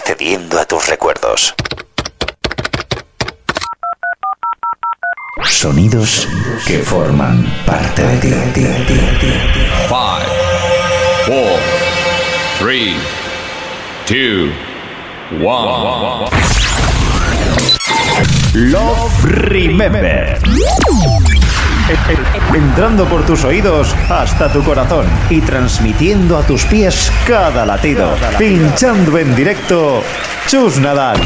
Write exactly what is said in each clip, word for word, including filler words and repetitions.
accediendo a tus recuerdos. Sonidos que forman parte de ti. Five, four, three, two, one. Love Remember. Entrando por tus oídos hasta tu corazón y transmitiendo a tus pies cada latido. Pinchando en directo, Chus Nadal.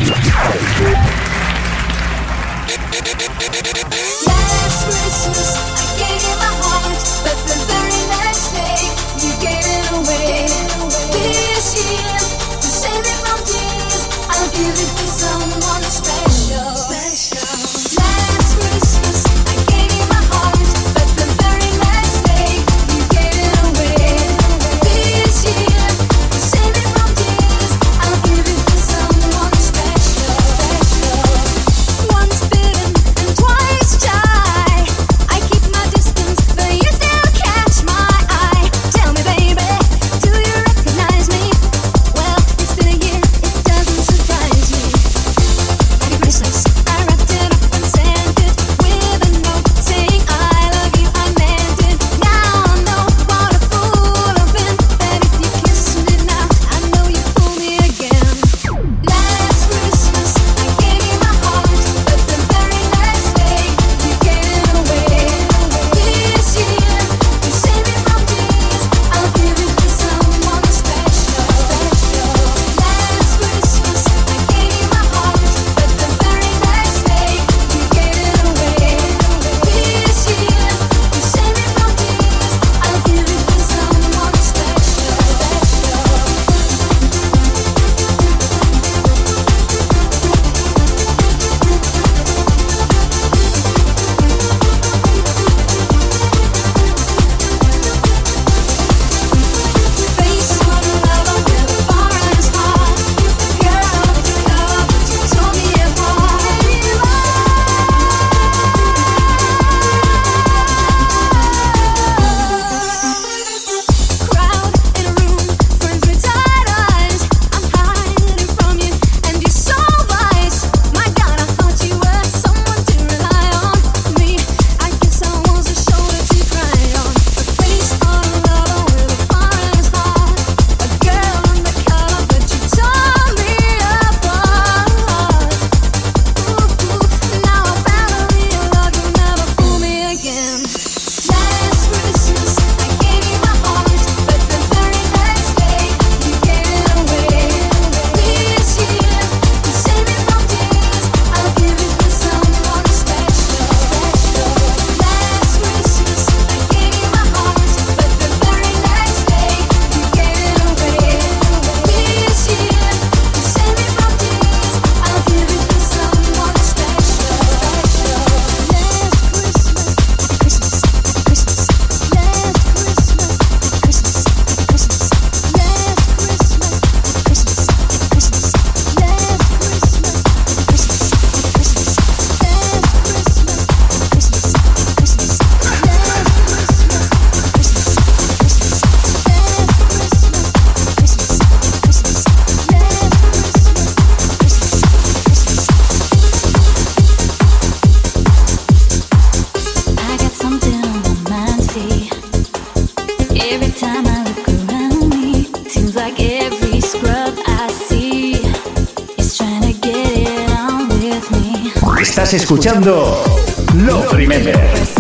Estás escuchando Love Remember.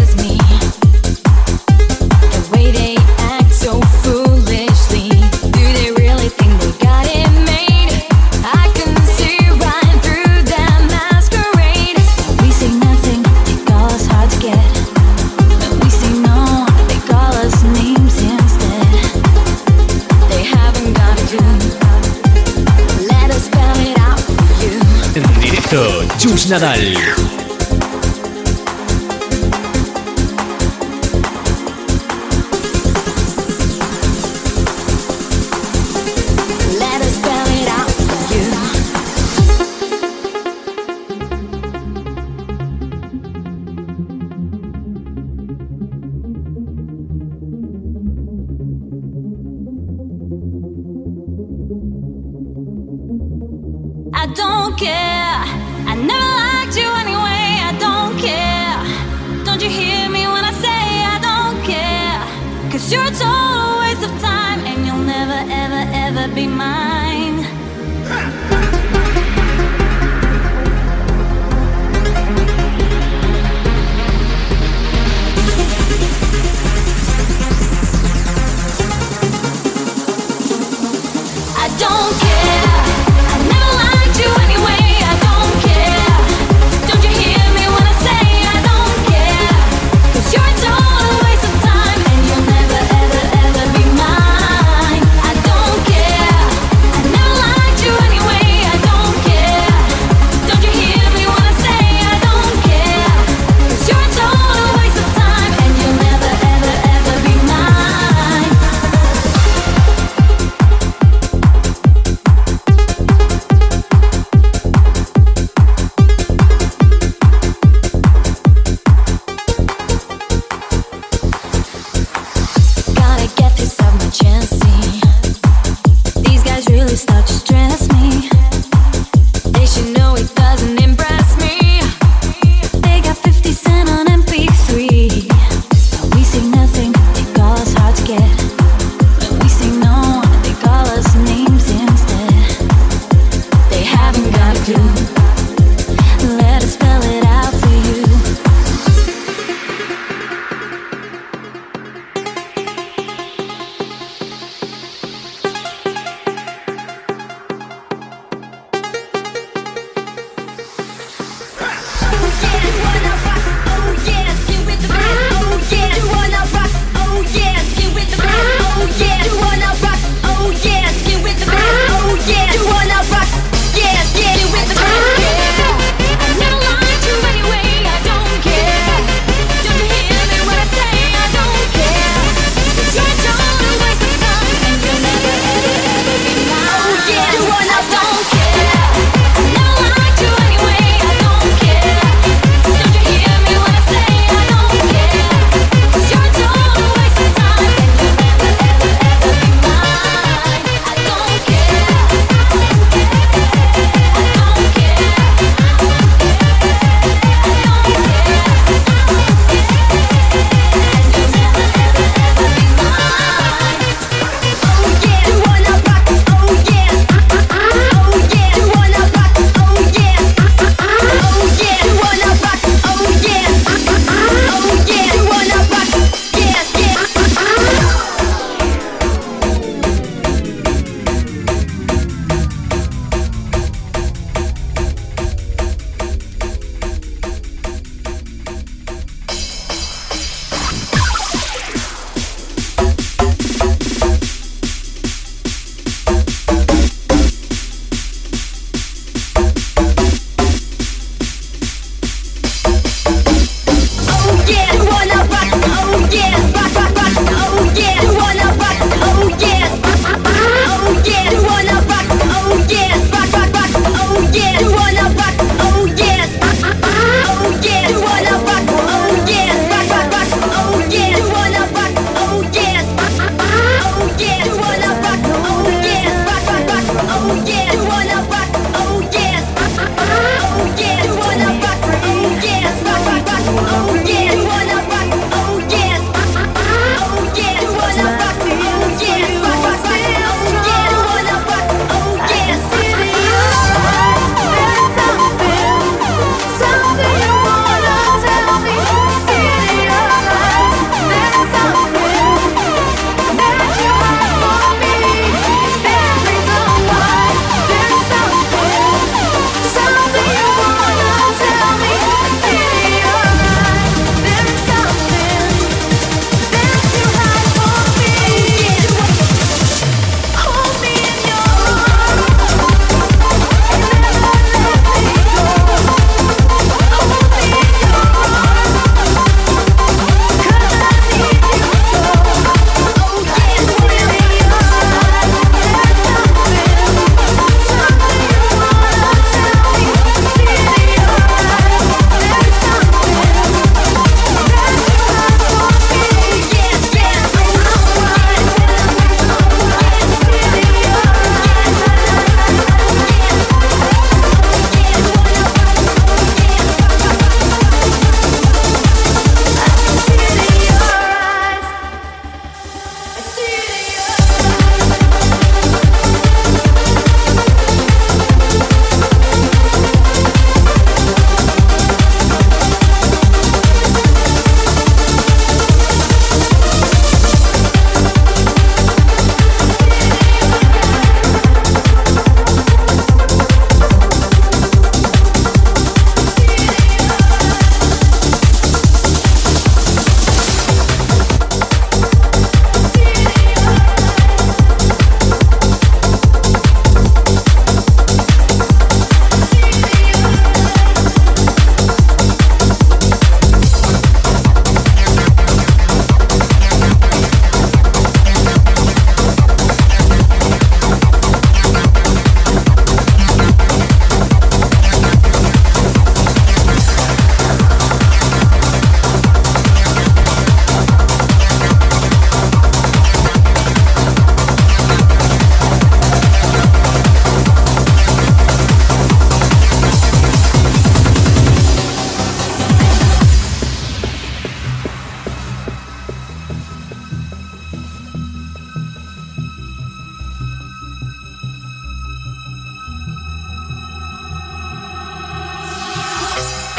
Chus Nadal. don't care. I never liked you anyway, I don't care. Don't you hear me when I say I don't care? Cause you're a total waste of time, and you'll never, ever, ever be mine. I don't care. I never liked you anyway, I don't care. Don't you hear me when I say I don't care? Cause you're a total waste of time, and you'll never, ever, ever be mine. I don't care. I never liked you anyway, I don't care. Don't you hear me when I say I don't care? Cause you're a total waste of time, and you'll never, ever, ever be mine. Gotta get this off my chest, see. These guys really start to stress me. They should know it doesn't impress me. They got fifty cent on M P three. But we say nothing, they call us hard to get. When we say no, they call us names instead. They haven't got a clue. Let us spell it out for you. Mine.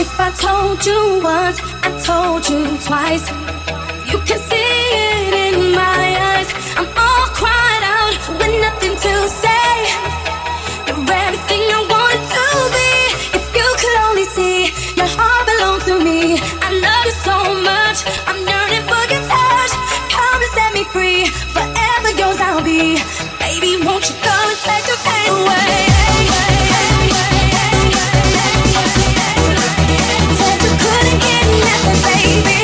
If I told you once, I told you twice. You can see it in my eyes. I'm all cried out with nothing to say. You're everything I wanted to be. If you could only see, your heart belongs to me. I love you so much, I'm yearning for your touch. Come and set me free, forever yours I'll be. Baby, won't you come and take this pain away? Said you couldn't get nothing, baby.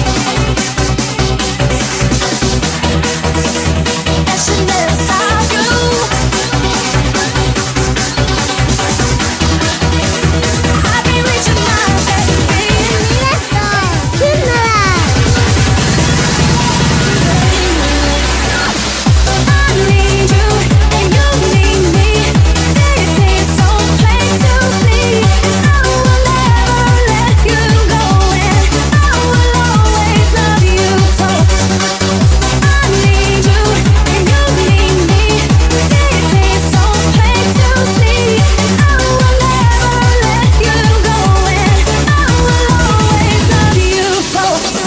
That should never stop you. I've been reaching my baby. Let's go, I need you and you need me. This is so plain to see. I will never let you go, and I will always love you so. I need you and you need me. This is so plain to see. I will never let you go, and I will always love you so.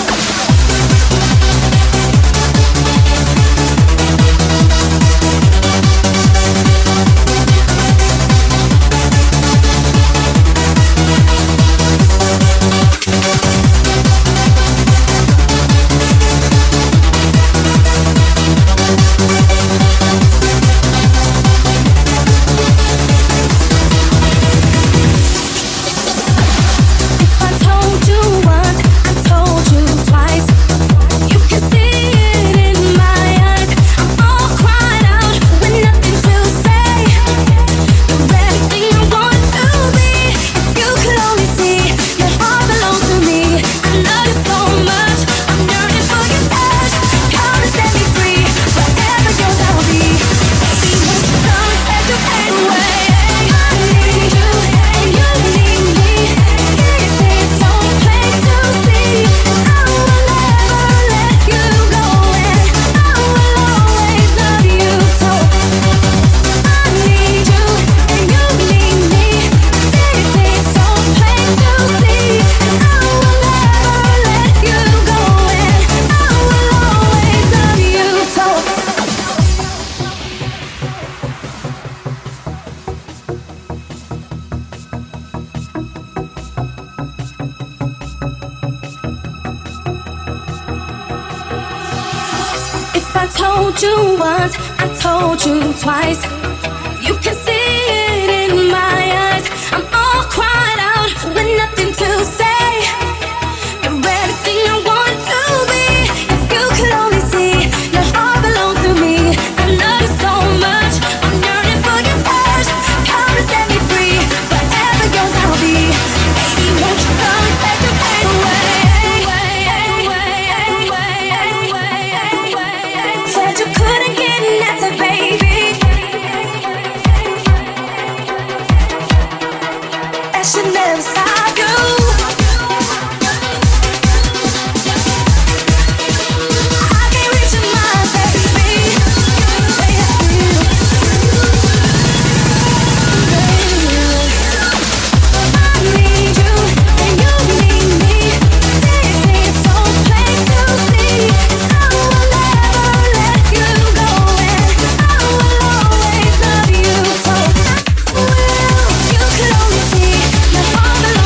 If I told you once, I told you twice. You can see it in my eyes. I'm all cried out with nothing to say. You're everything I want to be. If you could only see, your heart belongs to me. I love you so much, I'm yearning for your touch. Come and set me free, forever yours I'll be. Baby, won't you come and take this pain away? I need you and you need me. This is so plain to see. I will never let you go, and I will always love you so. I need you and you need me. This is so plain to see. I will never let you go, and I will always love you so. If I told you once, I told you twice. You can see it in my eyes. I'm all cried out with nothing to say. You're everything I wanted to be. If you could only see, your heart belongs to me. I love you so much, I'm yearning for your touch. Come and set me free, forever yours I'll be. Baby, won't you come and take this pain away? Said you couldn't get nothing, baby. That should never stop you. I've been reaching my baby. I need you and you need me. This is so plain to see. I will never let you go, and I will always love you so. Will you could only see your heart belongs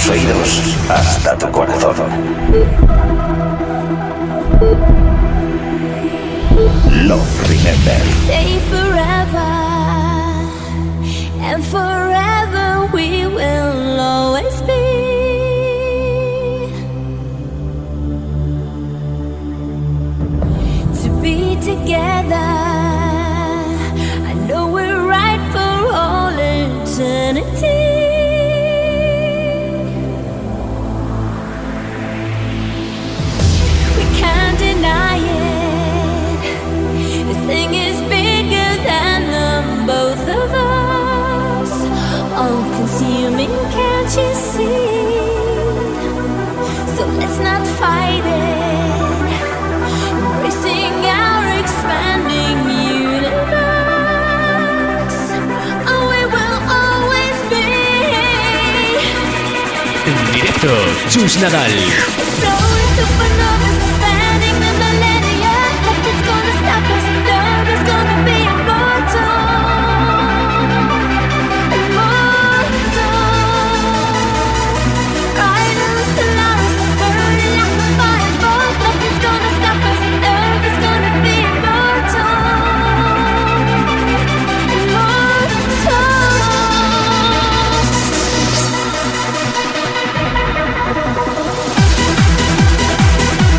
tus oídos hasta tu corazón. Love Remember. Stay forever, and forever we will always be. To be together, I know we're right for all eternity. We can't deny it. This thing is bigger than the both of us. All consuming, can't you see? So let's not fight it. Embracing our expanding universe. Oh, we will always be. En directo, Chus Nadal. Exploding supernovas, spanning the millennia. Nothing's gonna stop us. Love is gonna be immortal. Immortal. Riders to Laris, burning like a fireball. Nothing's gonna stop us. Love is gonna be immortal. Immortal.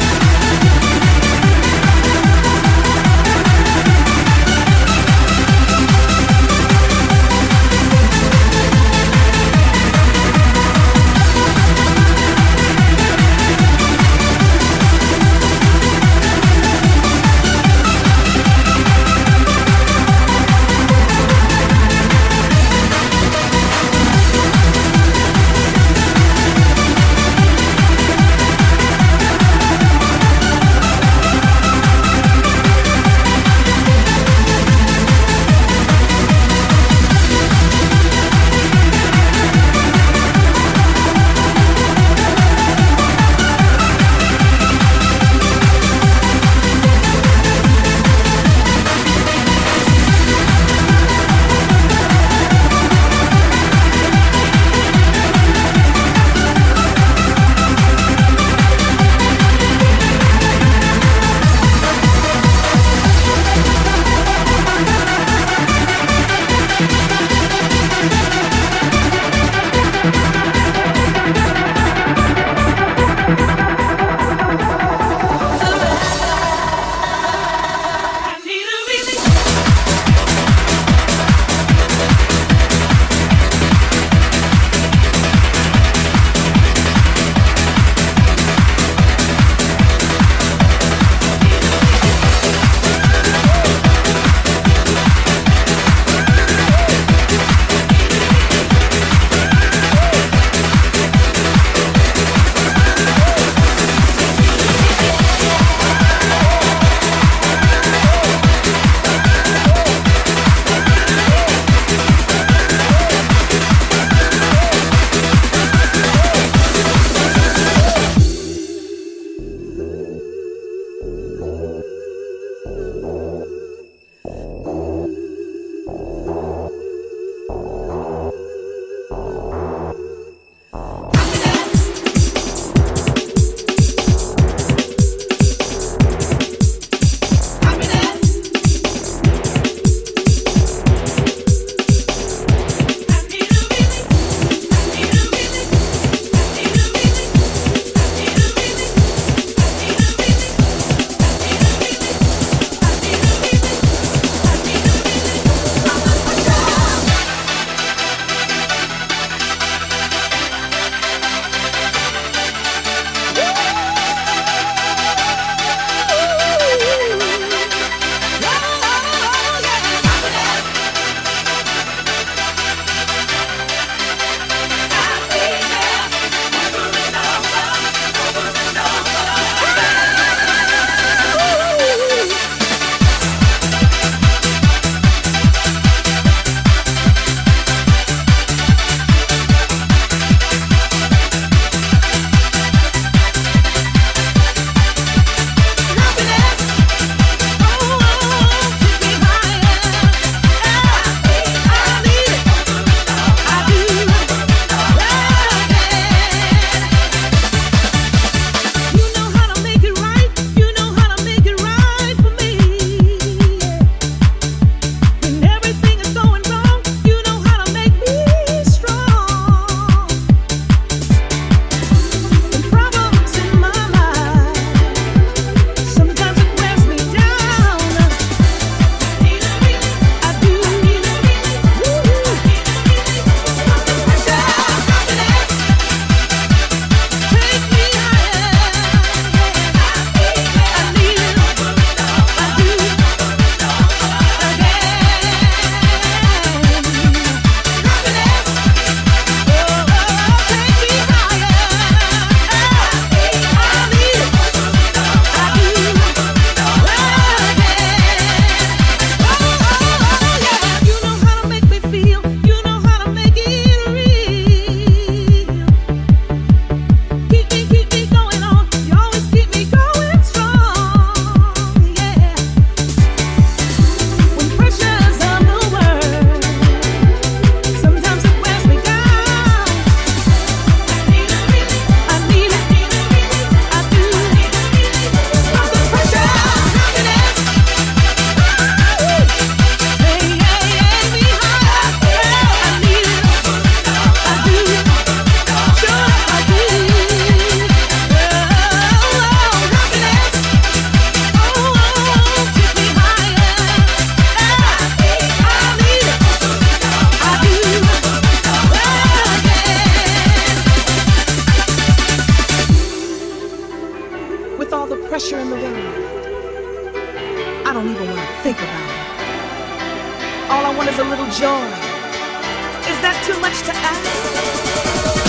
All I want is a little joy. Is that too much to ask?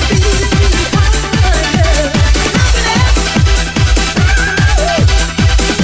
Happiness.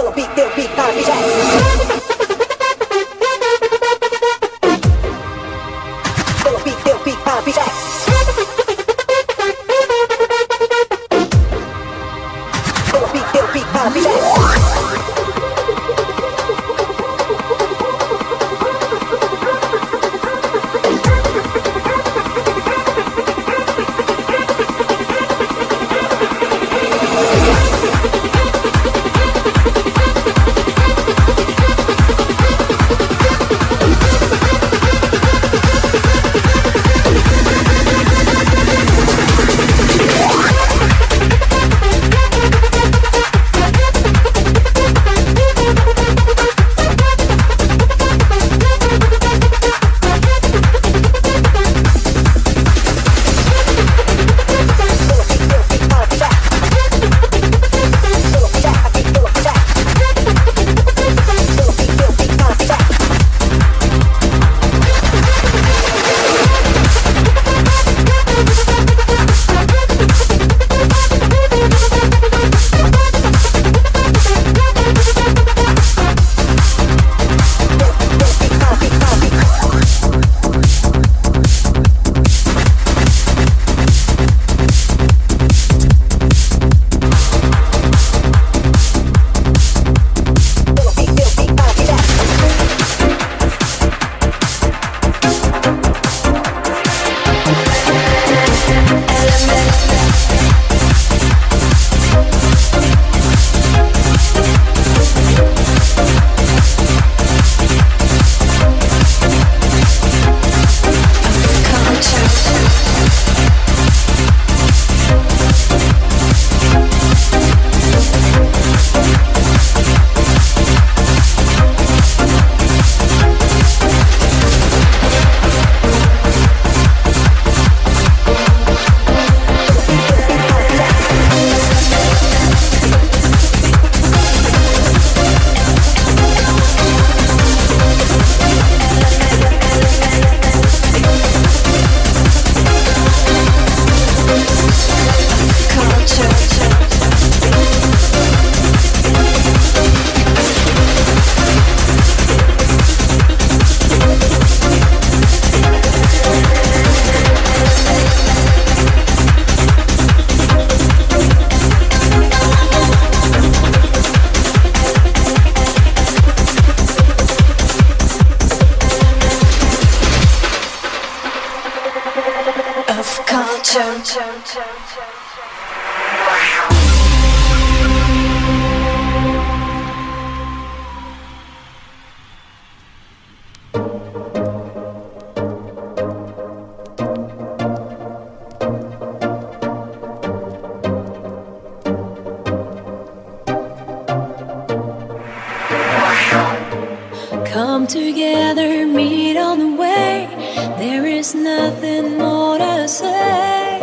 Come together, meet on the way. There is nothing more to say.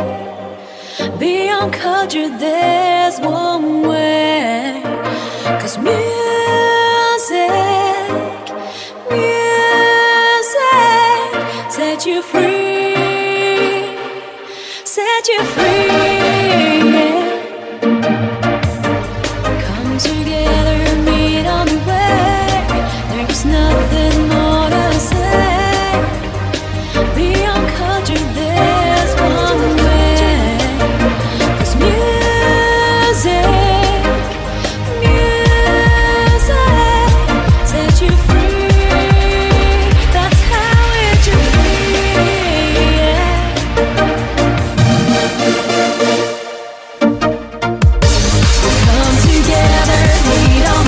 Beyond culture, there's one way. 'Cause music, music set you free, set you free. Yeah. Come together, meet on the way. There's nothing more to say. Beyond culture, there's one way. 'Cause music, music set you free. That's how it should be. Yeah. Come together, meet on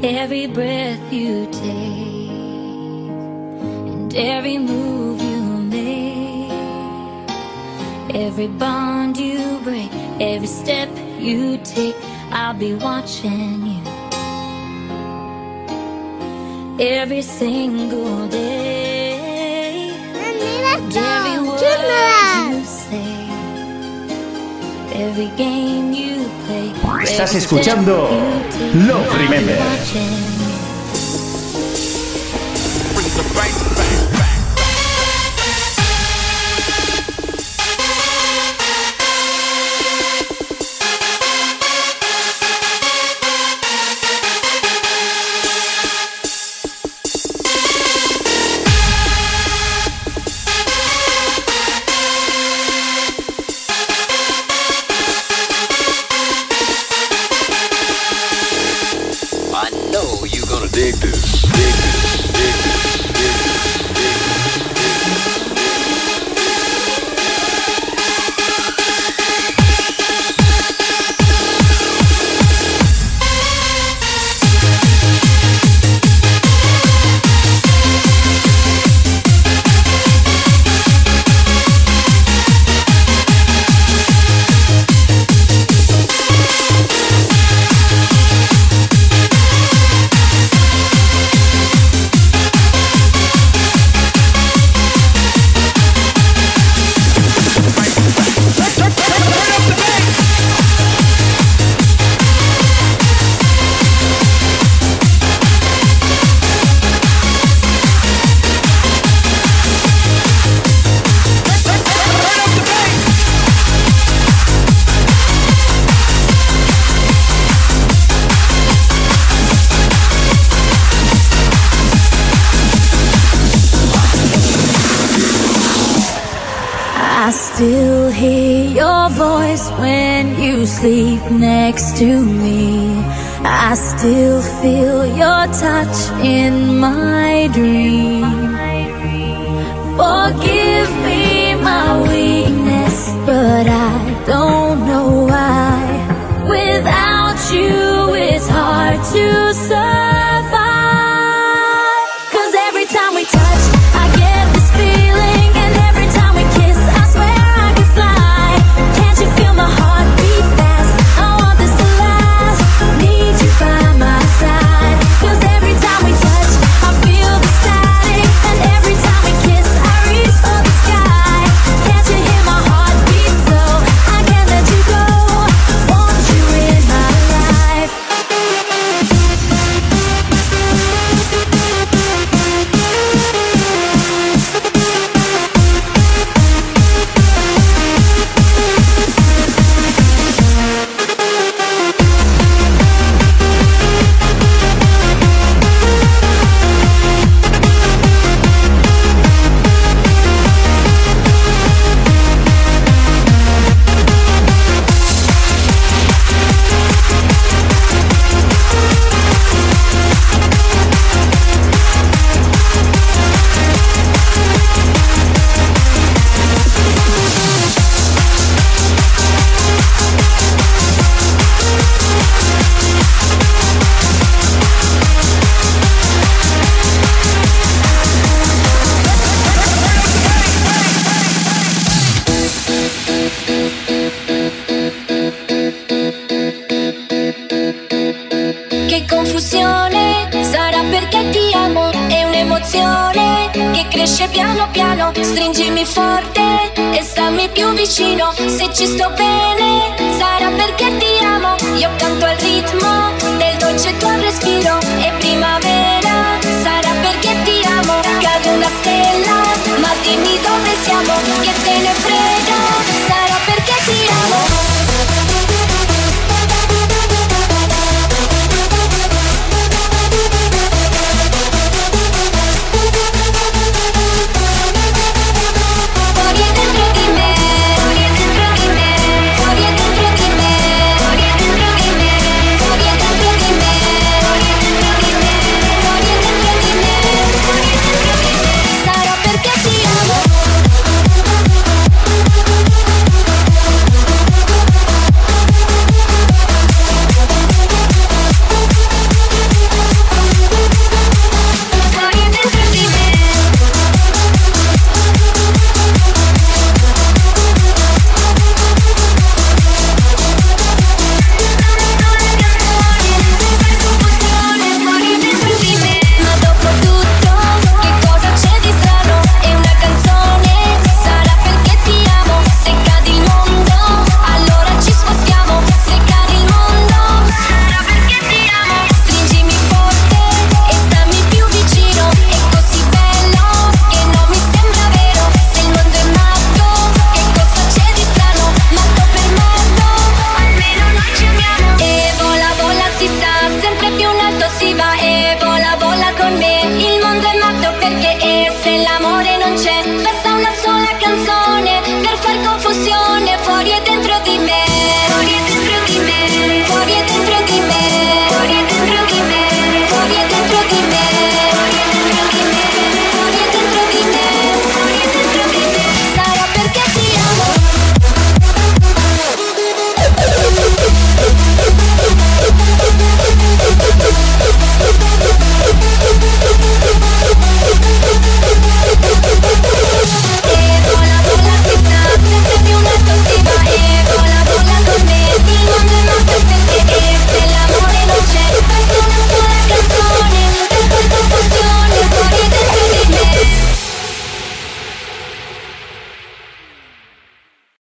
Every breath you take and every move you make, every bond you break, every step you take, I'll be watching you every single day. And every word you say, every game you play. Estás escuchando Love Remember. Dig this, dig this, dig this, dig I still hear your voice when you sleep next to me. I still feel your touch in my dream. Forgive me my weakness, but I don't know why. Without you, it's hard to survive. 'Cause every time we touch, I get this feeling, and every time we kiss, I swear I could fly. Can't you feel my heart beat fast? I want this to last. Need you by my side. 'Cause every time we touch, I feel the static, and every time we kiss, I reach for the sky. Can't you hear my heart beat so? I can't let you go. Want you in my life. Che confusione, sarà perché ti amo, è un'emozione che cresce piano piano. Stringimi forte e stammi più vicino. Se ci sto bene, sarà perché ti amo. Io